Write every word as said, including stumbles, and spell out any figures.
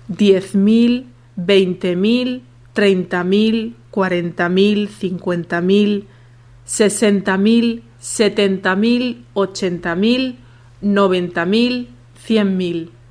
diez mil, veinte mil, treinta mil, cuarenta mil, cincuenta mil, sesenta mil, setenta mil, ochenta mil, noventa mil, cien mil.